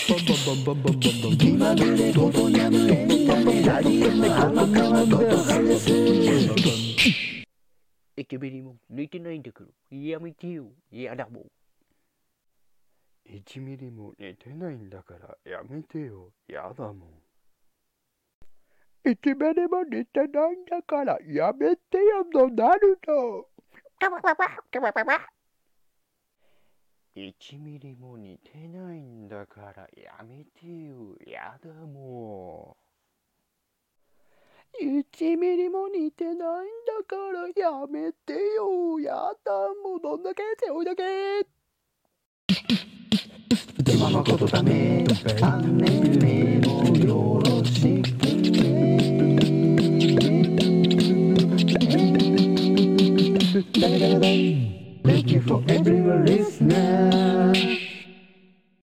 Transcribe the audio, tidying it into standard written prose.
気まぐれごとにゃむエンタメラジオの天川ととかです。 エケベリも抜いてないんだからやめてよ。やだもん。 1ミリも寝てないんだからやめてよ。やだもん。 1ミリも寝てないんだからやめてよのなるの。 1ミリも似てないんだからやめてよ。やだもん。1ミリも似てないんだからやめてよ。やだもん。どんだけ背負いだけ。 では誠ため3年目もよろしくね。Thank you for everyone listening.